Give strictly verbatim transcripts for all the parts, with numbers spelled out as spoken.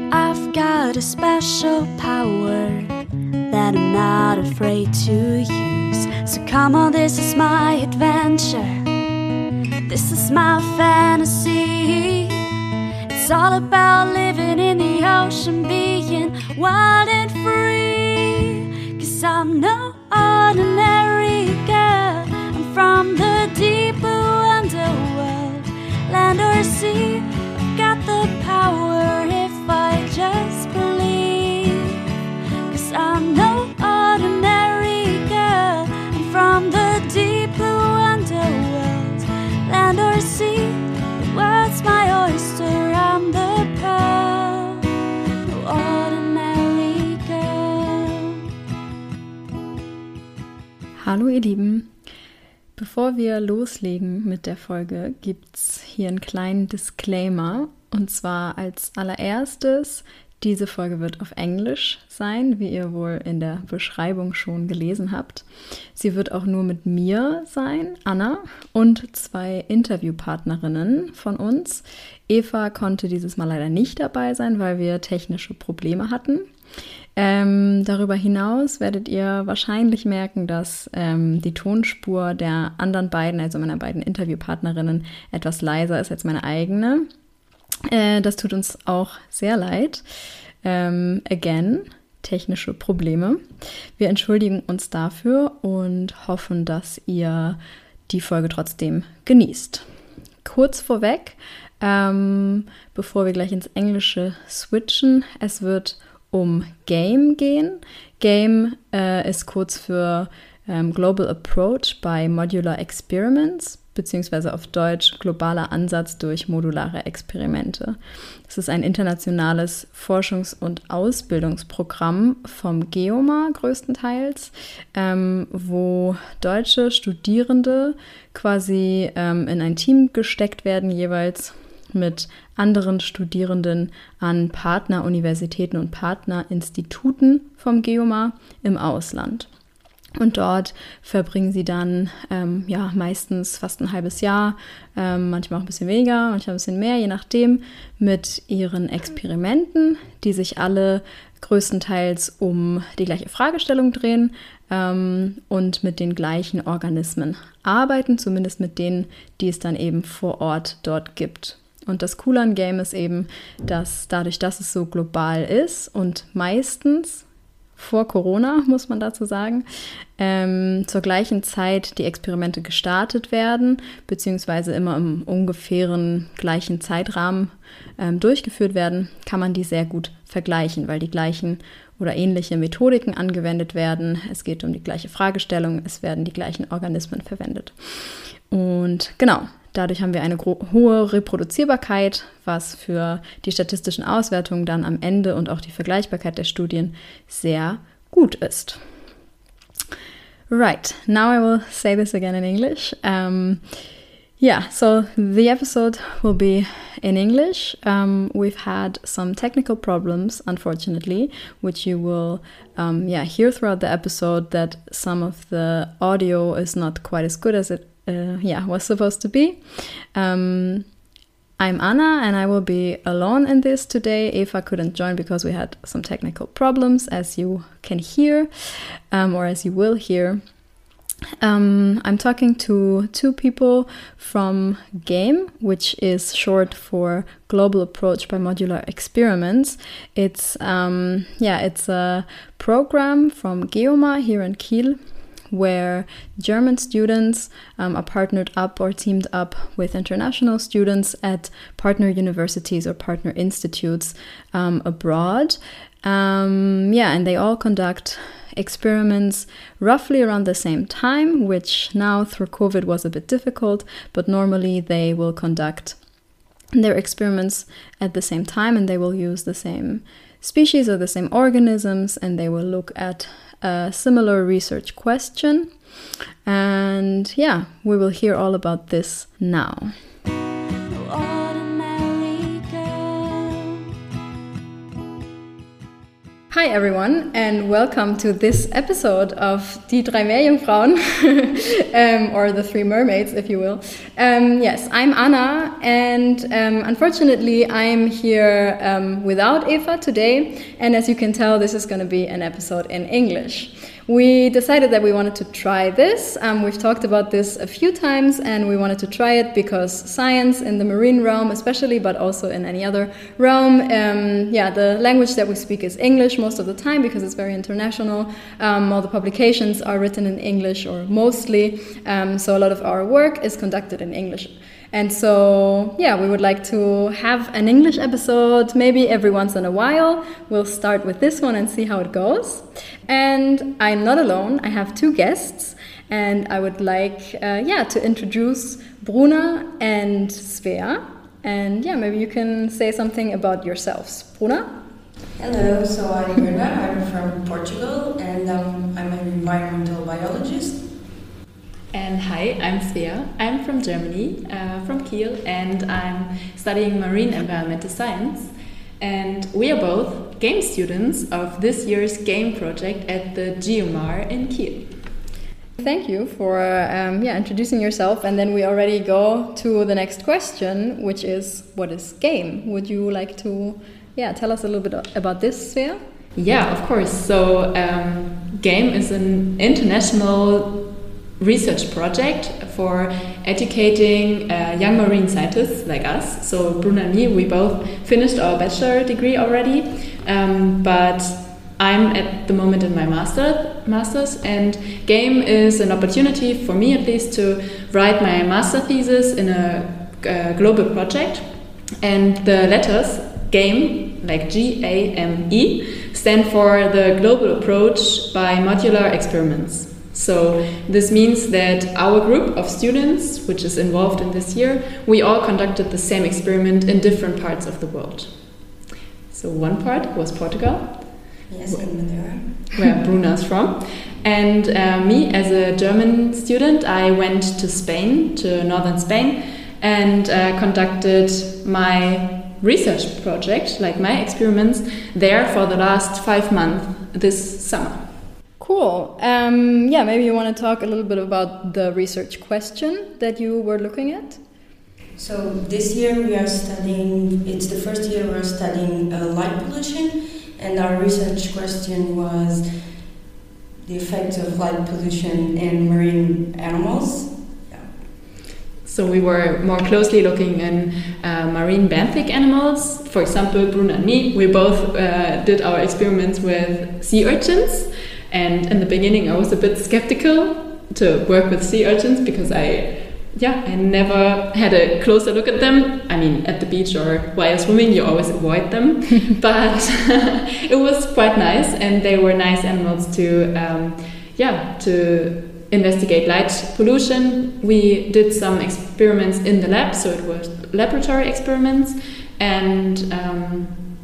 I've got a special power that I'm not afraid to use. So come on, this is my adventure. This is my fantasy. It's all about living in the ocean, being wild and free. 'Cause I'm no ordinary girl. I'm from the deep underworld, land or sea. I've got the power if I just believe. 'Cause I'm no ordinary girl. I'm from the deep underworld, land or sea. The world's my oyster, I'm the pearl, no ordinary girl. Hallo ihr Lieben, bevor wir loslegen mit der Folge, gibt's hier einen kleinen Disclaimer. Und zwar als allererstes, diese Folge wird auf Englisch sein, wie ihr wohl in der Beschreibung schon gelesen habt. Sie wird auch nur mit mir sein, Anna, und zwei Interviewpartnerinnen von uns. Eva konnte dieses Mal leider nicht dabei sein, weil wir technische Probleme hatten. Ähm, darüber hinaus werdet ihr wahrscheinlich merken, dass ähm, die Tonspur der anderen beiden, also meiner beiden Interviewpartnerinnen, etwas leiser ist als meine eigene. Äh, das tut uns auch sehr leid. Ähm, again, technische Probleme. Wir entschuldigen uns dafür und hoffen, dass ihr die Folge trotzdem genießt. Kurz vorweg, ähm, bevor wir gleich ins Englische switchen, es wird um Game gehen. Game äh, ist kurz für ähm, Global Approach by Modular Experiments, beziehungsweise auf Deutsch globaler Ansatz durch modulare Experimente. Das ist ein internationales Forschungs- und Ausbildungsprogramm vom GEOMA größtenteils, ähm, wo deutsche Studierende quasi ähm, in ein Team gesteckt werden, jeweils mit anderen Studierenden an Partneruniversitäten und Partnerinstituten vom GEOMA im Ausland. Und dort verbringen sie dann ähm, ja, meistens fast ein halbes Jahr, ähm, manchmal auch ein bisschen weniger, manchmal ein bisschen mehr, je nachdem, mit ihren Experimenten, die sich alle größtenteils um die gleiche Fragestellung drehen ähm, und mit den gleichen Organismen arbeiten, zumindest mit denen, die es dann eben vor Ort dort gibt. Und das Coole an Game ist eben, dass dadurch, dass es so global ist und meistens vor Corona, muss man dazu sagen, ähm, zur gleichen Zeit die Experimente gestartet werden, beziehungsweise immer im ungefähren gleichen Zeitrahmen ähm, durchgeführt werden, kann man die sehr gut vergleichen, weil die gleichen oder ähnliche Methodiken angewendet werden. Es geht um die gleiche Fragestellung, es werden die gleichen Organismen verwendet. Und genau, dadurch haben wir eine gro- hohe Reproduzierbarkeit, was für die statistischen Auswertungen dann am Ende und auch die Vergleichbarkeit der Studien sehr gut ist. Right, now I will say this again in English. Um, yeah, so the episode will be in English. Um, we've had some technical problems, unfortunately, which you will um, yeah, hear throughout the episode, that some of the audio is not quite as good as it Uh, yeah, was supposed to be. Um, I'm Anna and I will be alone in this today. Eva couldn't join because we had some technical problems, as you can hear, um, or as you will hear. Um, I'm talking to two people from GAME, which is short for Global Approach by Modular Experiments. It's um, yeah, it's a program from GEOMA here in Kiel, where German students um, are partnered up or teamed up with international students at partner universities or partner institutes um, abroad. Um, yeah, and they all conduct experiments roughly around the same time, which now through COVID was a bit difficult, but normally they will conduct their experiments at the same time and they will use the same species or the same organisms, and they will look at a similar research question. And yeah, we will hear all about this now. Hi everyone and welcome to this episode of Die drei Meerjungfrauen, um, or the Three Mermaids if you will. Um, yes, I'm Anna and um, unfortunately I'm here um, without Eva today, and as you can tell this is going to be an episode in English. We decided that we wanted to try this. Um, we've talked about this a few times and we wanted to try it because science in the marine realm especially, but also in any other realm, um, yeah, the language that we speak is English most of the time because it's very international. Um, all the publications are written in English or mostly, um, so a lot of our work is conducted in English. And so, yeah, we would like to have an English episode maybe every once in a while. We'll start with this one and see how it goes. And I'm not alone. I have two guests. And I would like, uh, yeah, to introduce Bruna and Svea. And yeah, maybe you can say something about yourselves. Bruna? Hello, so I'm Bruna. I'm from Portugal and um, I'm an environmental biologist. And hi, I'm Svea. I'm from Germany, uh, from Kiel, and I'm studying marine environmental science. And we are both game students of this year's game project at the Geomar in Kiel. Thank you for um, yeah, introducing yourself, and then we already go to the next question, which is, what is game? Would you like to yeah, tell us a little bit about this, Svea? Yeah, of course. So um, game is an international research project for educating uh, young marine scientists like us. So Bruna and me, we both finished our bachelor degree already, um, but I'm at the moment in my master masters, and game is an opportunity for me at least to write my master thesis in a, a global project. And the letters game, like G A M E, stand for the global approach by modular experiments. So this means that our group of students, which is involved in this year, we all conducted the same experiment in different parts of the world. So one part was Portugal, yes, in Madeira, where Bruna's from. And uh, me, as a German student, I went to Spain, to northern Spain, and uh, conducted my research project, like my experiments, there for the last five months this summer. Cool. Um, yeah, maybe you want to talk a little bit about the research question that you were looking at? So this year we are studying, it's the first year we're studying uh, light pollution, and our research question was the effects of light pollution in marine animals. Yeah. So we were more closely looking in uh, marine benthic animals. For example, Bruna and me, we both uh, did our experiments with sea urchins. And in the beginning, I was a bit skeptical to work with sea urchins because I, yeah, I never had a closer look at them. I mean, at the beach or while swimming, you always avoid them. But it was quite nice, and they were nice animals to, um, yeah, to investigate light pollution. We did some experiments in the lab, so it was laboratory experiments, and um,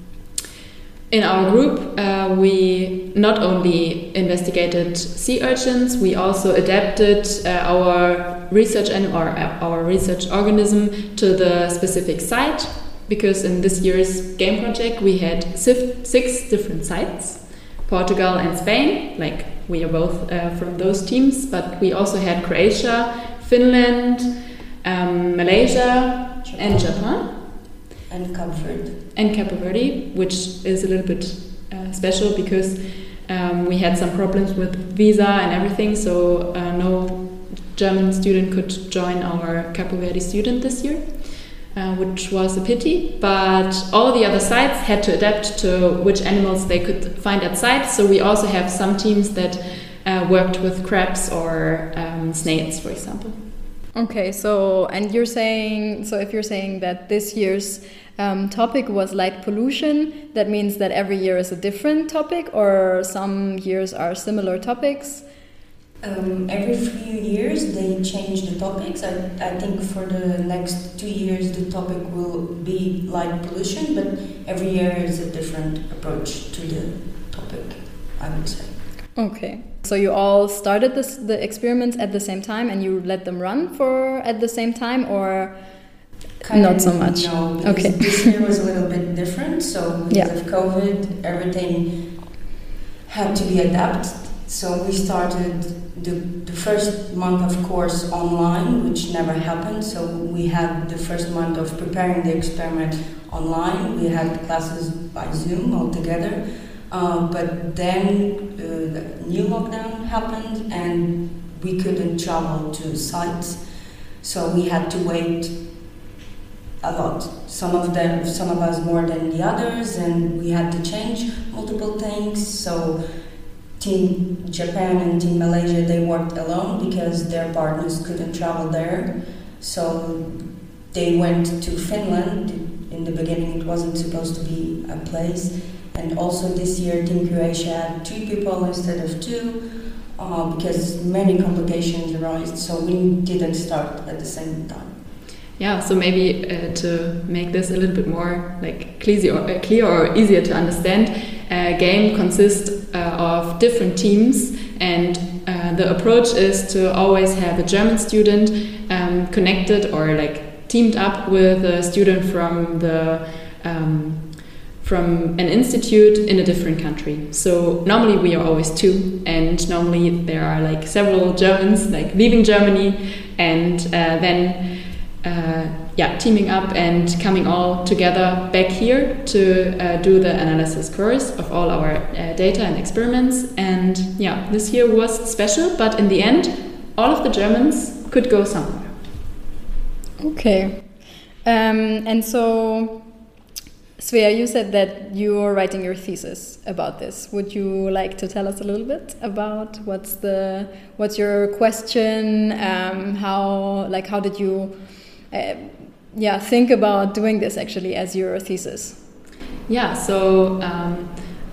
in our group, uh, we not only investigated sea urchins, we also adapted uh, our research and or our research organism to the specific site. Because in this year's game project, we had six different sites: Portugal and Spain. Like we are both uh, from those teams, but we also had Croatia, Finland, um, Malaysia, Japan. and Japan. And Cape Verde. And Cape Verde, which is a little bit uh, special because um, we had some problems with visa and everything, so uh, no German student could join our Cape Verde student this year, uh, which was a pity. But all the other sites had to adapt to which animals they could find at sites, so we also have some teams that uh, worked with crabs or um, snails, for example. Okay, so, and you're saying, so if you're saying that this year's um, topic was light pollution, that means that every year is a different topic, or some years are similar topics? Um, every few years they change the topics. I, I think for the next two years the topic will be light pollution, but every year is a different approach to the topic, I would say. Okay. So you all started this, the experiments at the same time, and you let them run for at the same time, or kind not of, so much? No, because okay. this year was a little bit different. So because yeah. of COVID, everything had to be adapted. So we started the, the first month of course online, which never happened. So we had the first month of preparing the experiment online. We had classes by Zoom altogether. Uh, but then uh, the new lockdown happened and we couldn't travel to sites. So we had to wait a lot. Some of them, some of us more than the others, and we had to change multiple things. So Team Japan and Team Malaysia, they worked alone because their partners couldn't travel there. So they went to Finland. In the beginning, it wasn't supposed to be a place. And also this year, Team Croatia had two people instead of two uh, because many complications arose. So we didn't start at the same time. Yeah, so maybe uh, to make this a little bit more like clear or, uh, clear or easier to understand, a game consists uh, of different teams, and uh, the approach is to always have a German student um, connected or like teamed up with a student from the um, from an institute in a different country. So normally we are always two, and normally there are like several Germans like leaving Germany and uh, then uh, yeah teaming up and coming all together back here to uh, do the analysis course of all our uh, data and experiments. And yeah, this year was special, but in the end all of the Germans could go somewhere. Okay. Um, and so Svea, you said that you're writing your thesis about this. Would you like to tell us a little bit about what's the what's your question? Um, how like how did you uh, yeah think about doing this actually as your thesis? Yeah. So um,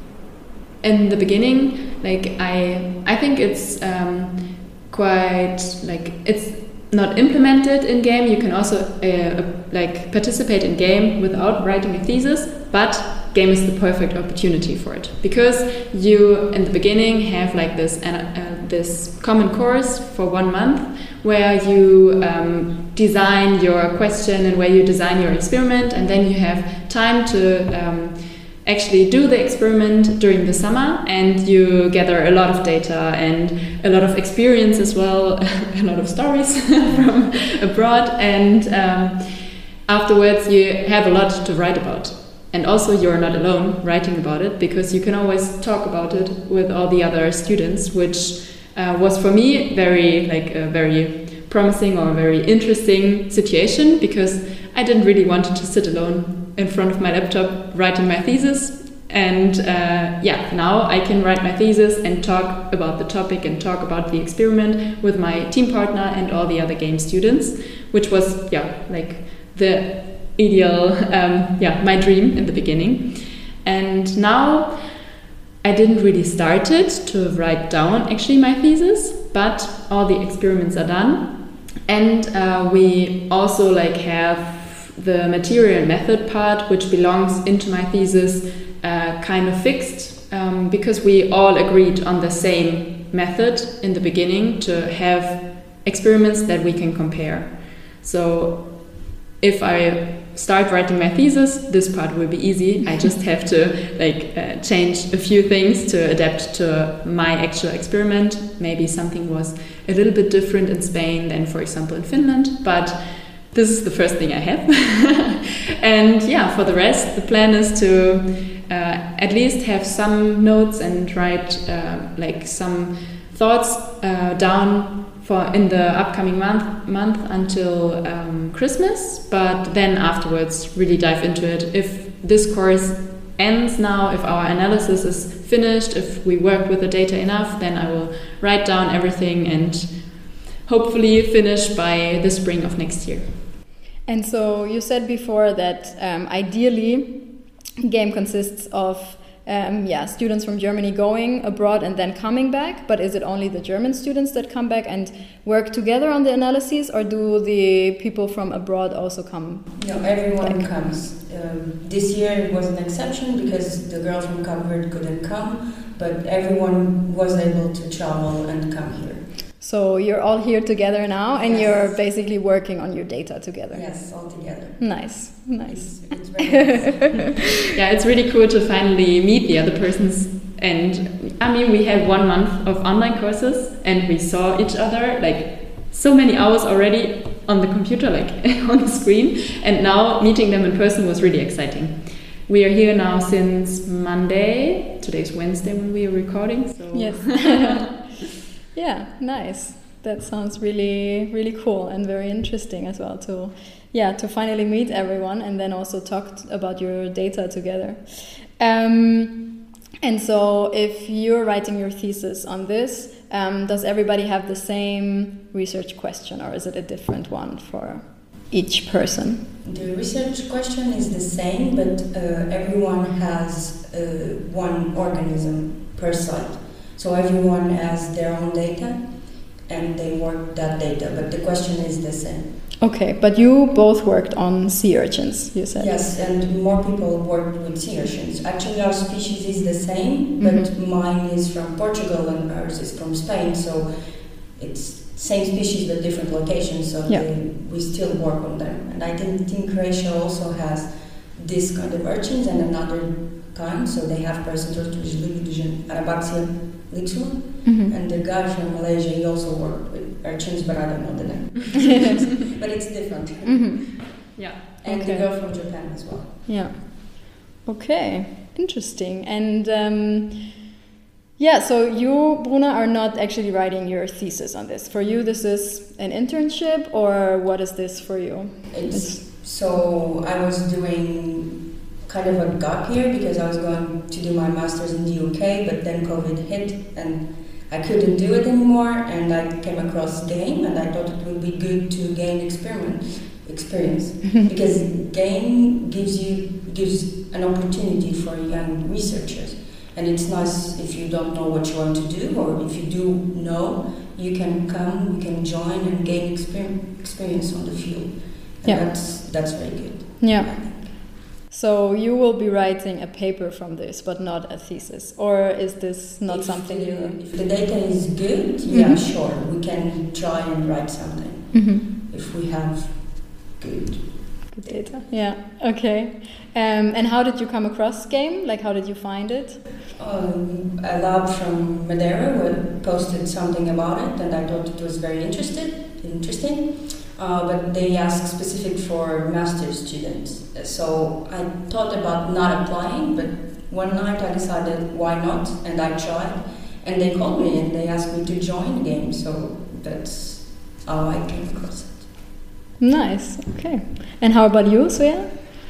in the beginning, like I I think it's um, quite like it's not implemented in game. You can also uh, like participate in game without writing a thesis, but game is the perfect opportunity for it, because you in the beginning have like this uh, this common course for one month where you um, design your question and where you design your experiment, and then you have time to um, actually do the experiment during the summer, and you gather a lot of data and a lot of experience as well, a lot of stories from abroad, and um, afterwards you have a lot to write about. And also you're not alone writing about it, because you can always talk about it with all the other students, which uh, was for me very like a very promising or very interesting situation, because I didn't really want to sit alone in front of my laptop writing my thesis. And uh, yeah, now I can write my thesis and talk about the topic and talk about the experiment with my team partner and all the other game students, which was yeah like the ideal um, yeah my dream in the beginning. And now I didn't really start it to write down actually my thesis, but all the experiments are done, and uh, we also like have the material method part, which belongs into my thesis, uh, kind of fixed, um, because we all agreed on the same method in the beginning to have experiments that we can compare. So if I start writing my thesis, this part will be easy. I just have to like uh, change a few things to adapt to my actual experiment. Maybe something was a little bit different in Spain than, for example, in Finland, but this is the first thing I have. And yeah, for the rest, the plan is to uh, at least have some notes and write uh, like some thoughts uh, down for in the upcoming month month until um, Christmas. But then afterwards, really dive into it. If this course ends now, if our analysis is finished, if we work with the data enough, then I will write down everything and hopefully finish by the spring of next year. And so you said before that um, ideally game consists of um, yeah students from Germany going abroad and then coming back, but is it only the German students that come back and work together on the analyses, or do the people from abroad also come? No, everyone back? comes. Um, this year it was an exception because the girl from Cape Verde couldn't come, but everyone was able to travel and come here. So you're all here together now, and Yes. you're basically working on your data together. Yes, all together. Nice, nice. It's, it's very nice. Yeah, it's really cool to finally meet the other persons And I mean, we had one month of online courses and we saw each other like so many hours already on the computer, like on the screen. And now meeting them in person was really exciting. We are here now since Monday. Today's Wednesday when we are recording. So. Yes. Yeah, nice. That sounds really, really cool and very interesting as well to, yeah, to finally meet everyone and then also talk t- about your data together. Um, and so if you're writing your thesis on this, um, does everybody have the same research question or is it a different one for each person? The research question is the same, but uh, everyone has uh, one organism per site. So everyone has their own data and they work that data, but the question is the same. Okay, but you both worked on sea urchins, you said? Yes, and more people worked with sea urchins. Actually, our species is the same, but mm-hmm. mine is from Portugal and ours is from Spain, so it's same species but different locations, so yeah. they, we still work on them. And I think Team Croatia also has this kind of urchins and another kind, so they have Paracentortus lividus, Arabaxia lixua, mm-hmm. and the guy from Malaysia, he also worked with urchins, but I don't know the name. But it's different. Mm-hmm. Yeah. And okay. the girl from Japan as well. Yeah. Okay, interesting. And um, yeah, so you, Bruna, are not actually writing your thesis on this. For you, this is an internship, or what is this for you? It's, it's so I was doing kind of a gap year because I was going to do my master's in the U K, but then COVID hit and I couldn't do it anymore, and I came across GAME and I thought it would be good to gain experiment experience because GAME gives you gives an opportunity for young researchers, and it's nice if you don't know what you want to do, or if you do know, you can come, you can join and gain exper- experience on the field. And yeah. that's that's very good. Yeah. So you will be writing a paper from this, but not a thesis, or is this not if something the, you? If the data is good, mm-hmm. yeah, sure, we can try and write something mm-hmm. if we have good good data. Yeah. Okay. Um, and how did you come across GAME? Like, how did you find it? Um, a lab from Madeira posted something about it, and I thought it was very interested, interesting. Uh, but they ask specific for master's students. So I thought about not applying, but one night I decided why not, and I tried. And they called me and they asked me to join GAME, so that's how I came across it. Nice, okay. And how about you, Svea?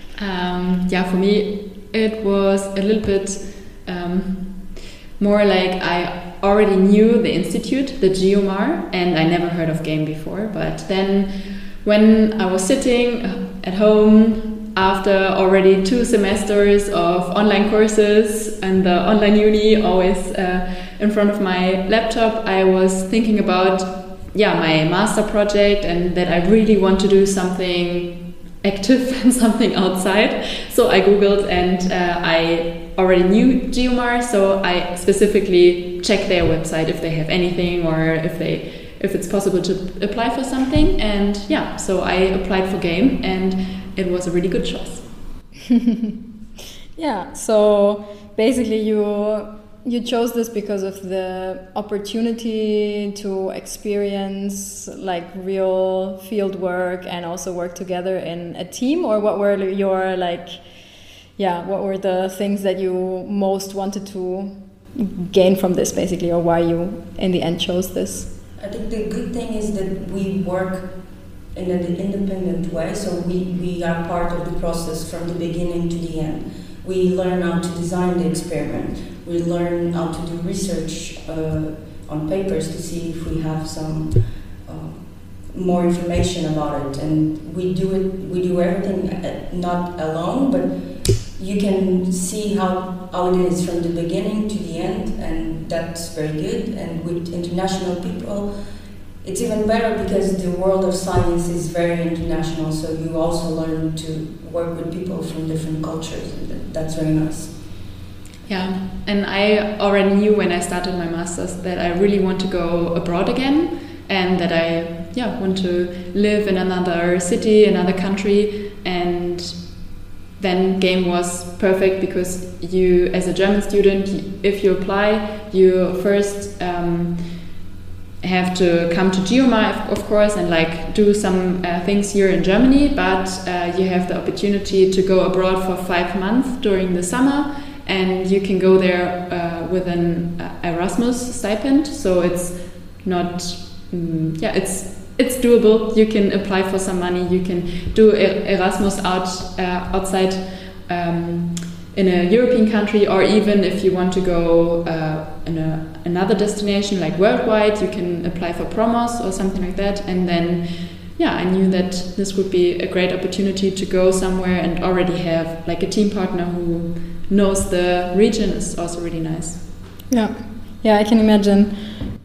Um, yeah, for me it was a little bit um, more like I already knew the institute, the GeoMar, and I never heard of GAME before. But then when I was sitting at home after already two semesters of online courses and the online uni always uh, in front of my laptop, I was thinking about yeah, my master project and that I really want to do something active and something outside. So I googled and uh, I already knew GeoMar, so I specifically checked their website if they have anything or if they if it's possible to apply for something. And yeah, so I applied for GAME and it was a really good choice. Yeah, so basically you you chose this because of the opportunity to experience like real field work and also work together in a team, or what were your like yeah what were the things that you most wanted to gain from this basically, or why you in the end chose this? I think the good thing is that we work in an independent way, so we, we are part of the process from the beginning to the end. We learn how to design the experiment. We learn how to do research uh, on papers to see if we have some uh, more information about it. And we do it. We do everything uh, not alone, but you can see how, how it is from the beginning to the end, and that's very good. And with international people, it's even better because the world of science is very international, so you also learn to work with people from different cultures, and that's very nice. Yeah, and I already knew when I started my master's that I really want to go abroad again, and that I yeah want to live in another city, another country, and then GAME was perfect because you, as a German student, if you apply, you first um, have to come to GeoMar, of course, and like do some uh, things here in Germany, but uh, you have the opportunity to go abroad for five months during the summer, and you can go there uh, with an uh, Erasmus stipend. So it's not, um, yeah, it's it's doable. You can apply for some money. You can do Erasmus out uh, outside um, in a European country, or even if you want to go uh, in a, another destination like worldwide, you can apply for Promos or something like that. And then, yeah, I knew that this would be a great opportunity to go somewhere and already have like a team partner who knows the region is also really nice. Yeah, yeah, I can imagine.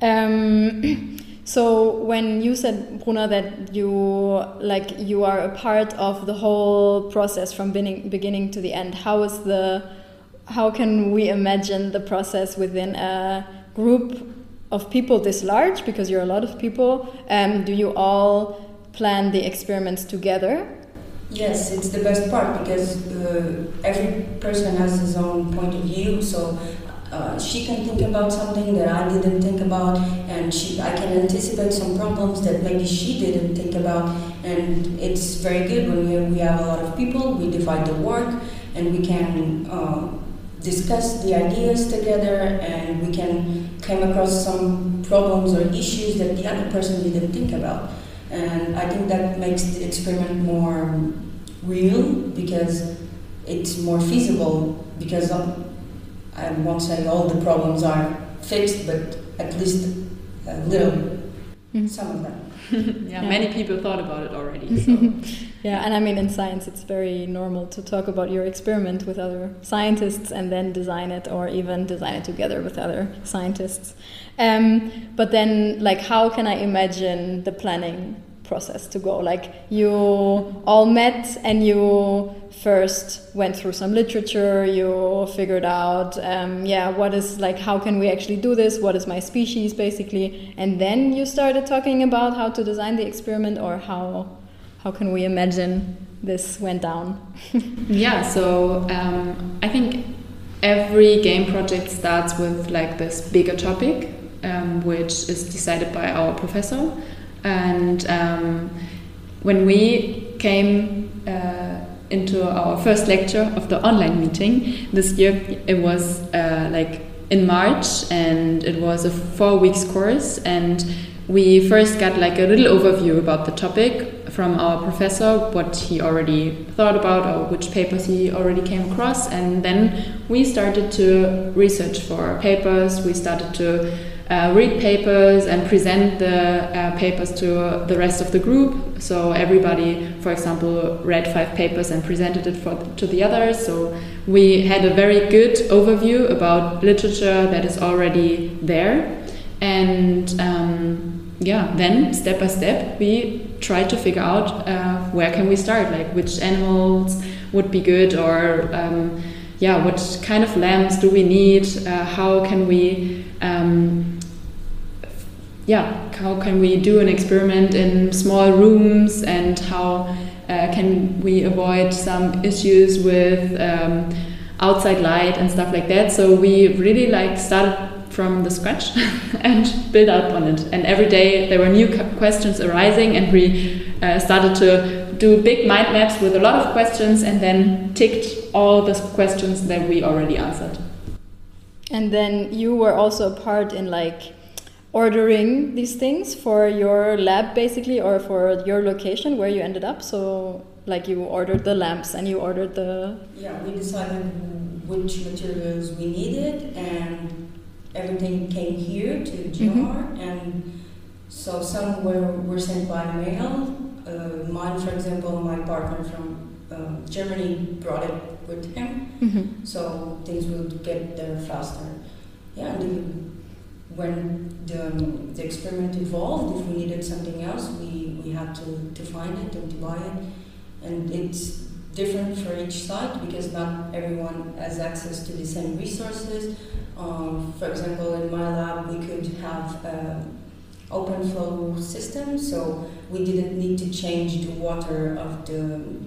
Um, So when you said, Bruna, that you like you are a part of the whole process from beginning beginning to the end, how is the how can we imagine the process within a group of people this large? Because you're a lot of people. Um, do you all plan the experiments together? Yes, it's the best part because uh, every person has his own point of view. So. Uh, she can think about something that I didn't think about, and she, I can anticipate some problems that maybe she didn't think about, and it's very good when we, we have a lot of people, we divide the work, and we can uh, discuss the ideas together, and we can come across some problems or issues that the other person didn't think about. And I think that makes the experiment more real, because it's more feasible, because of, I won't say all the problems are fixed, but at least a little, mm-hmm. some of them. yeah, yeah, many people thought about it already. So. yeah, and I mean, in science, it's very normal to talk about your experiment with other scientists and then design it, or even design it together with other scientists. Um, but then, like, how can I imagine the planning process to go? Like, you all met and you first went through some literature, you figured out um, yeah what is like how can we actually do this, what is my species basically, and then you started talking about how to design the experiment, or how how can we imagine this went down? yeah so um, I think every game project starts with like this bigger topic um, which is decided by our professor. And um, when we came uh, into our first lecture of the online meeting this year, it was uh, like in March, and it was a four weeks course, and we first got like a little overview about the topic from our professor, what he already thought about or which papers he already came across, and then we started to research for papers. We started to Uh, read papers and present the uh, papers to the rest of the group. So everybody, for example, read five papers and presented it for, to the others. So we had a very good overview about literature that is already there. And um, yeah, then step by step, we tried to figure out uh, where can we start, like which animals would be good, or um, yeah, what kind of lamps do we need? Uh, how can we um, yeah, how can we do an experiment in small rooms, and how uh, can we avoid some issues with um, outside light and stuff like that. So we really like started from the scratch and built up on it. And every day there were new questions arising, and we uh, started to do big mind maps with a lot of questions, and then ticked all the questions that we already answered. And then you were also a part in like ordering these things for your lab basically, or for your location where you ended up. So like you ordered the lamps and you ordered the... Yeah, we decided which materials we needed, and everything came here to GeoMar. Mm-hmm. And so some were, were sent by mail. Uh, mine, for example, my partner from uh, Germany brought it with him. Mm-hmm. So things would get there faster. Yeah, and the, when the, the experiment evolved, if we needed something else, we, we had to, to find it and to buy it. And it's different for each site, because not everyone has access to the same resources. Um, for example, in my lab, we could have an open flow system, so we didn't need to change the water of the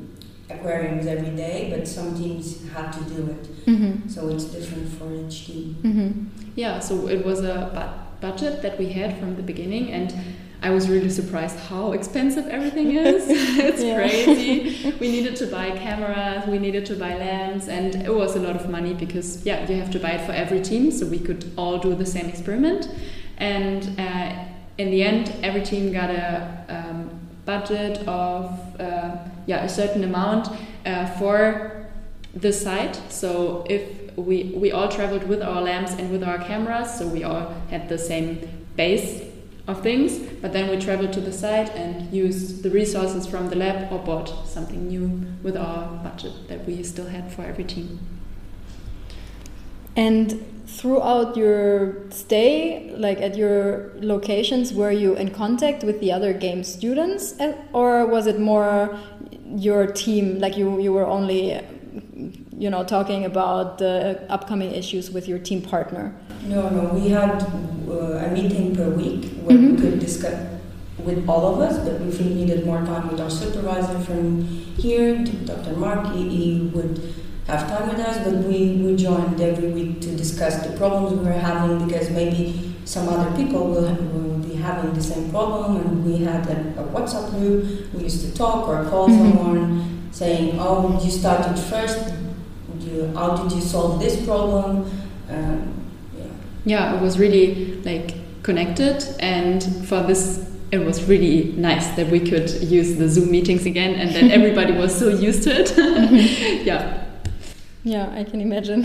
aquariums every day, but some teams had to do it. Mm-hmm. So it's different for each team. Mm-hmm. Yeah, so it was a bu- budget that we had from the beginning, and I was really surprised how expensive everything is. It's Yeah. crazy. We needed to buy cameras, we needed to buy lamps, and it was a lot of money because, yeah, you have to buy it for every team, so we could all do the same experiment. And uh, in the end, every team got a um, budget of uh, yeah a certain amount uh, for the site. So if we we all traveled with our lamps and with our cameras, so we all had the same base of things, but then we traveled to the site and used the resources from the lab or bought something new with our budget that we still had for every team. And throughout your stay, like at your locations, were you in contact with the other game students, or was it more your team, like you, you were only, you know, talking about the upcoming issues with your team partner? No, no, we had uh, a meeting per week where Mm-hmm. we could discuss with all of us, but if we needed more time with our supervisor from here, Doctor Mark, he, he would have time with us, but we, we joined every week to discuss the problems we were having, because maybe some other people will, have, will be having the same problem, and we had a, a WhatsApp group. We used to talk or call Mm-hmm. someone saying, oh, you started first, you, how did you solve this problem? Um, yeah. Yeah, it was really like connected, and for this it was really nice that we could use the Zoom meetings again and that everybody was so used to it. Yeah. Yeah, I can imagine.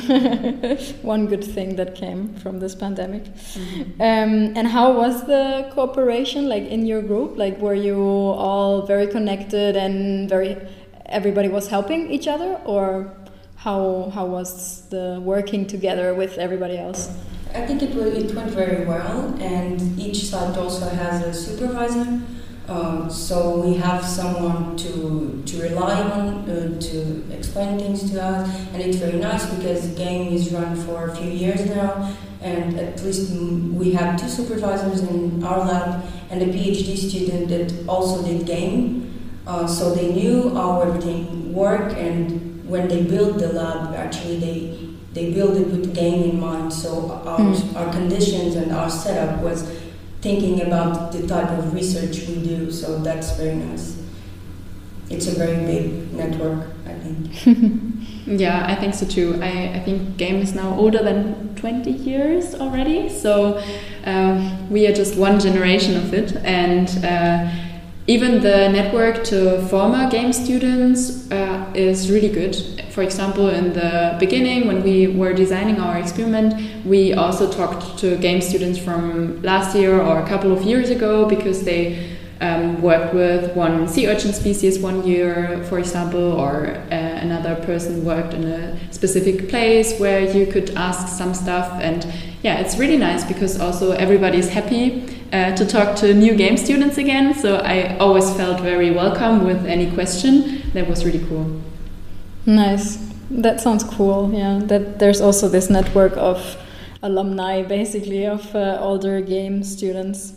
One good thing that came from this pandemic. Mm-hmm. Um, and how was the cooperation, like in your group? Like, were you all very connected and very, everybody was helping each other, or how how was the working together with everybody else? I think it, will, it went very well, and each site also has a supervisor. Um, so we have someone to to rely on uh, to explain things to us, and it's very nice because the game is run for a few years now, and at least we have two supervisors in our lab and a PhD student that also did game, uh, so they knew how everything worked, and when they built the lab, actually they they built it with game in mind. So our mm. our conditions and our setup was thinking about the type of research we do, so that's very nice. It's a very big network, I think. Yeah, I think so too. I, I think game is now older than twenty years already, so um, we are just one generation of it, and uh, even the network to former game students uh, is really good. For example, in the beginning, when we were designing our experiment, we also talked to game students from last year or a couple of years ago, because they um, worked with one sea urchin species one year, for example, or uh, another person worked in a specific place where you could ask some stuff. And yeah, it's really nice because also everybody is happy uh, to talk to new game students again. So I always felt very welcome with any question. That was really cool. Nice. That sounds cool. Yeah, that there's also this network of alumni, basically, of uh, older game students.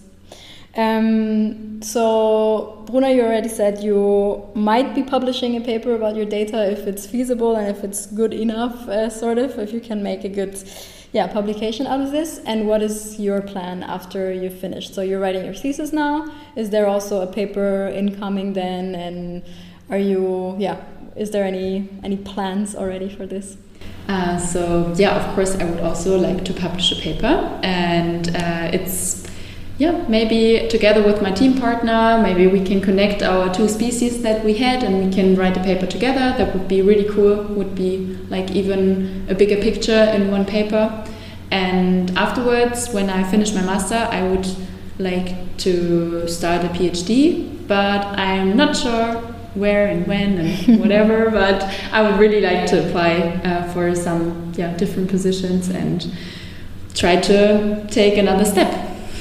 Um, so, Bruna, you already said you might be publishing a paper about your data if it's feasible and if it's good enough, uh, sort of, if you can make a good yeah, publication out of this. And what is your plan after you've finished? So you're writing your thesis now. Is there also a paper incoming then? And are you, yeah... Is there any any plans already for this? Uh, so yeah, of course, I would also like to publish a paper, and uh, it's yeah maybe together with my team partner, maybe we can connect our two species that we had, and we can write a paper together. That would be really cool. Would be like even a bigger picture in one paper. And afterwards, when I finish my master, I would like to start a PhD, but I'm not sure where and when and whatever, but I would really like to apply uh, for some yeah different positions and try to take another step.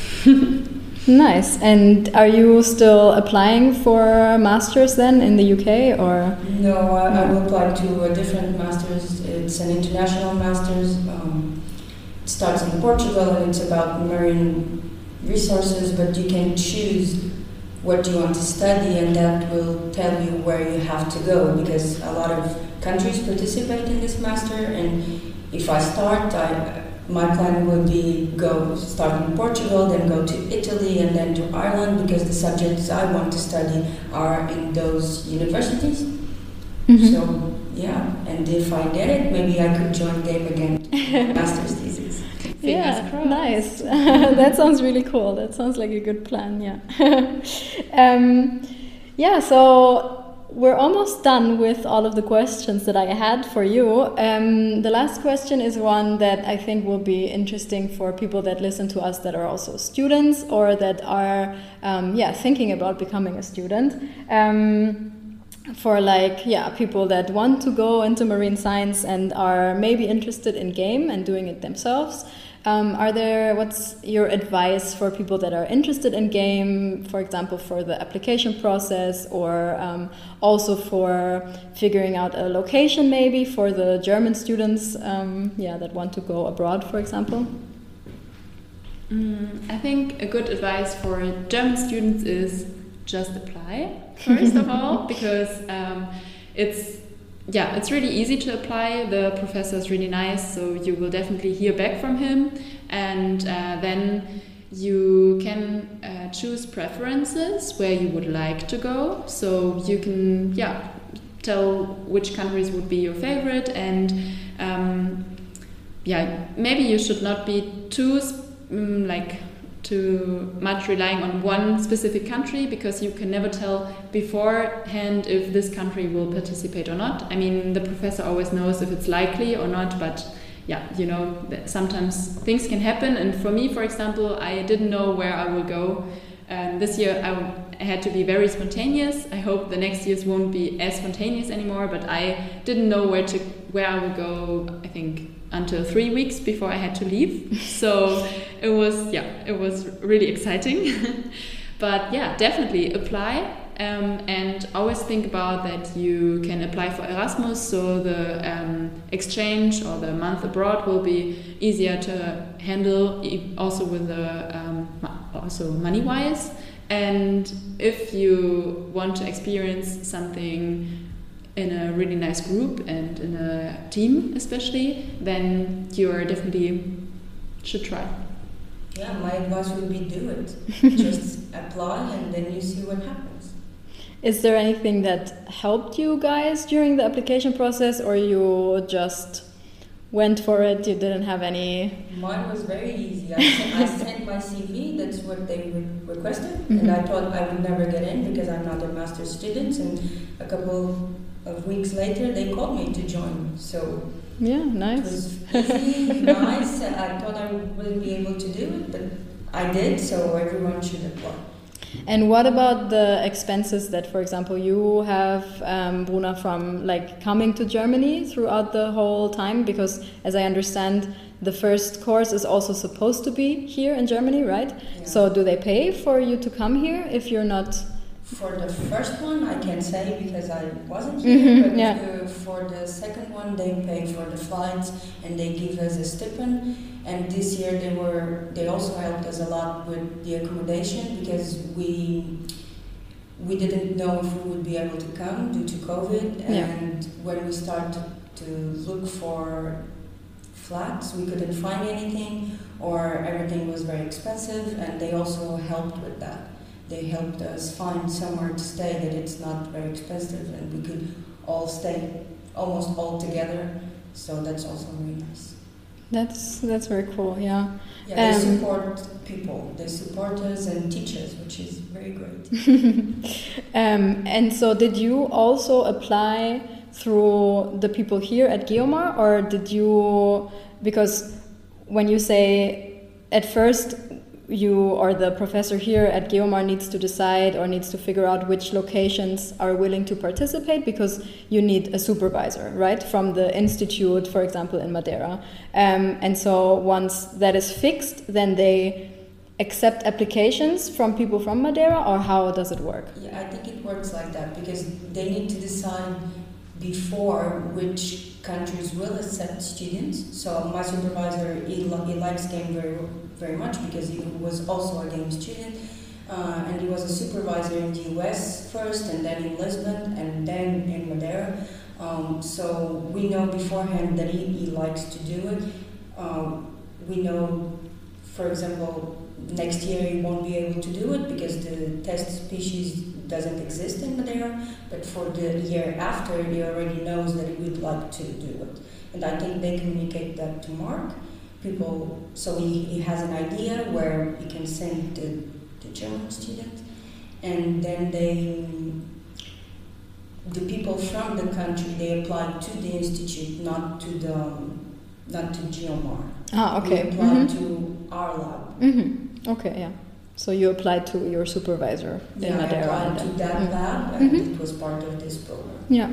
Nice. And are you still applying for masters then in the U K, or? No, I, I will apply to a different masters. It's an international masters. Um, it starts in Portugal and it's about marine resources, but you can choose what do you want to study, and that will tell you where you have to go, because a lot of countries participate in this master, and if I start, I, my plan would be go start in Portugal, then go to Italy, and then to Ireland, because the subjects I want to study are in those universities. Mm-hmm. So yeah, and if I get it, maybe I could join Game again, master's thesis. Yeah, nice. That sounds really cool. That sounds like a good plan, yeah. um, yeah, so we're almost done with all of the questions that I had for you. Um, the last question is one that I think will be interesting for people that listen to us that are also students or that are um, yeah, thinking about becoming a student. Um, for like, yeah, people that want to go into marine science and are maybe interested in game and doing it themselves. Um, are there, what's your advice for people that are interested in game, for example, for the application process, or um, also for figuring out a location maybe for the German students um, yeah, that want to go abroad, for example? Mm, I think a good advice for German students is just apply, first of all, because um, it's Yeah, it's really easy to apply. The professor is really nice, so you will definitely hear back from him. And uh, then you can uh, choose preferences where you would like to go. So you can, yeah, tell which countries would be your favorite. And um, yeah, maybe you should not be too um, like too much relying on one specific country, because you can never tell beforehand if this country will participate or not. I mean, the professor always knows if it's likely or not, but yeah, you know, sometimes things can happen. And for me, for example, I didn't know where I will go. Um, this year I had to be very spontaneous. I hope the next years won't be as spontaneous anymore, but I didn't know where to where I would go, I think, until three weeks before I had to leave. So it was, yeah, it was really exciting. But yeah, definitely apply, um, and always think about that you can apply for Erasmus, so the um, exchange or the month abroad will be easier to handle, also with the um, also money-wise. And if you want to experience something in a really nice group and in a team especially, then you are definitely should try. Yeah, my advice would be do it. Just apply and then you see what happens. Is there anything that helped you guys during the application process, or you just went for it, you didn't have any? Mine was very easy. I sent, I sent my C V, that's what they re- requested, mm-hmm. and I thought I would never get in because I'm not a master's student, and a couple of weeks later they called me to join. So yeah, nice. It was easy, nice. I thought I wouldn't be able to do it, but I did, so everyone should apply. And what about the expenses that, for example, you have, um, Bruna, from like coming to Germany throughout the whole time? Because as I understand, the first course is also supposed to be here in Germany, right? Yeah. So do they pay for you to come here if you're not? For the first one, I can't say because I wasn't here, mm-hmm, but yeah. uh, for the second one, they pay for the flights and they give us a stipend. And this year they were they also helped us a lot with the accommodation, because we we didn't know if we would be able to come due to COVID. And yeah. when we started to look for flats, we couldn't find anything, or everything was very expensive, and they also helped with that. They helped us find somewhere to stay that it's not very expensive, and we could all stay almost all together. So that's also really nice. That's that's very cool, yeah. Yeah, they um, support people. They support us and teach us, which is very great. um, and so did you also apply through the people here at Geomar, or did you, because when you say at first you or the professor here at Geomar needs to decide or needs to figure out which locations are willing to participate, because you need a supervisor, right, from the institute, for example, in Madeira. Um, and so once that is fixed, then they accept applications from people from Madeira, or how does it work? Yeah, I think it works like that, because they need to decide before which countries will accept students. So my supervisor, he, he likes game very very much, because he was also a game student. Uh, and he was a supervisor in the U S first, and then in Lisbon, and then in Madeira. Um, so we know beforehand that he, he likes to do it. Um, we know, for example, next year he won't be able to do it because the test species doesn't exist in Madeira, but for the year after he already knows that he would like to do it. And I think they communicate that to Mark. People, so he, he has an idea where he can send the, the German students, and then they, the people from the country, they apply to the institute, not to the, not to Geomar. Ah, okay. They apply Mm-hmm. to our lab. Mm-hmm. Okay, yeah. So you applied to your supervisor in Yeah, I Madeira. applied to and that then- lab, and Mhm. it was part of this program. Yeah.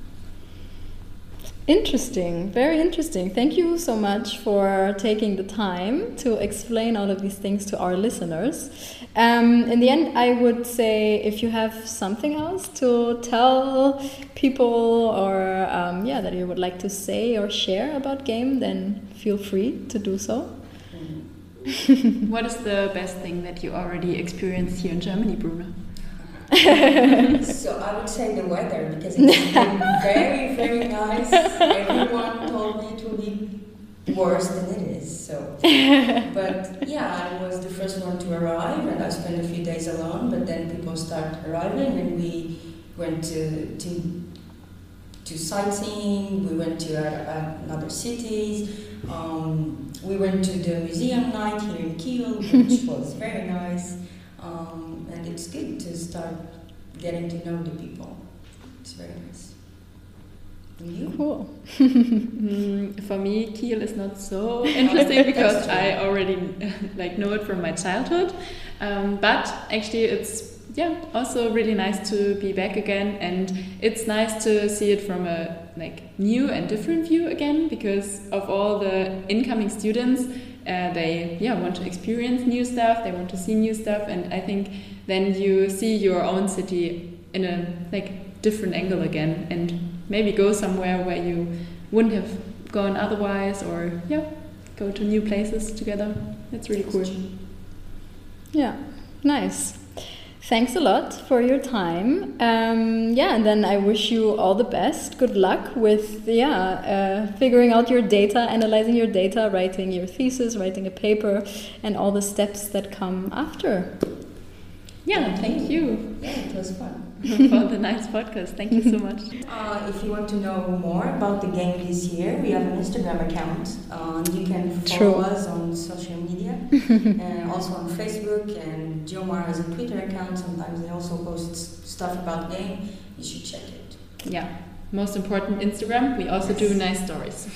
Interesting, very interesting. Thank you so much for taking the time to explain all of these things to our listeners. Um, in the end, I would say if you have something else to tell people or um, yeah, that you would like to say or share about game, then feel free to do so. What is the best thing that you already experienced here in Germany, Bruna? So I would say the weather, because it's been very, very nice. Everyone told me it will be worse than it is. So, but yeah, I was the first one to arrive, and I spent a few days alone. But then people start arriving, and we went to to, to sightseeing. We went to uh, other cities. Um, we went to the museum night here in Kiel, which was very nice. Um, and it's good to start getting to know the people. It's very nice. And you? Cool. Mm, for me, Kiel is not so interesting because true. I already like know it from my childhood. Um, but actually, it's yeah also really nice to be back again, and it's nice to see it from a like new and different view again, because of all the incoming students. Uh, they yeah want to experience new stuff, they want to see new stuff, and I think then you see your own city in a like different angle again, and maybe go somewhere where you wouldn't have gone otherwise, or yeah go to new places together. That's really cool. Yeah, nice. Thanks a lot for your time. Um, yeah, and then I wish you all the best. Good luck with yeah uh, figuring out your data, analyzing your data, writing your thesis, writing a paper, and all the steps that come after. Yeah, thank you Yeah, it was fun. for the nice podcast. Thank you so much. Uh, if you want to know more about the game this year, we have an Instagram account. Uh, you can follow True. us on social media, and also on Facebook. And Geomar has a Twitter account. Sometimes they also post s- stuff about game. You should check it. Yeah, most important, Instagram. We also do nice stories.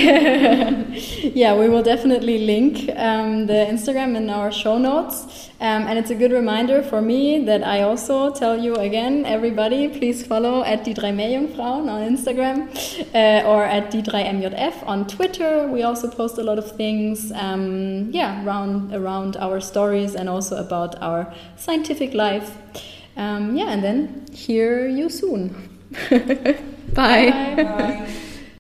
Yeah, we will definitely link um, the Instagram in our show notes. Um, and it's a good reminder for me that I also tell you again, everybody, please follow at die drei Meerjungfrauen on Instagram uh, or at die drei M J F on Twitter. We also post a lot of things, um, yeah, around, around our stories and also about our scientific life. Um, yeah, and then hear you soon. Bye. Bye. Bye.